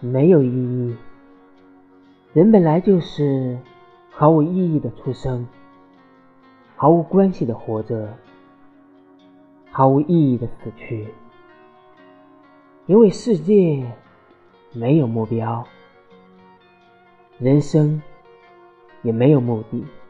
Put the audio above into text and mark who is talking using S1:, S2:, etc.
S1: 没有意义。人本来就是毫无意义的出生，毫无关系的活着，毫无意义的死去。因为世界没有目标，人生也没有目的。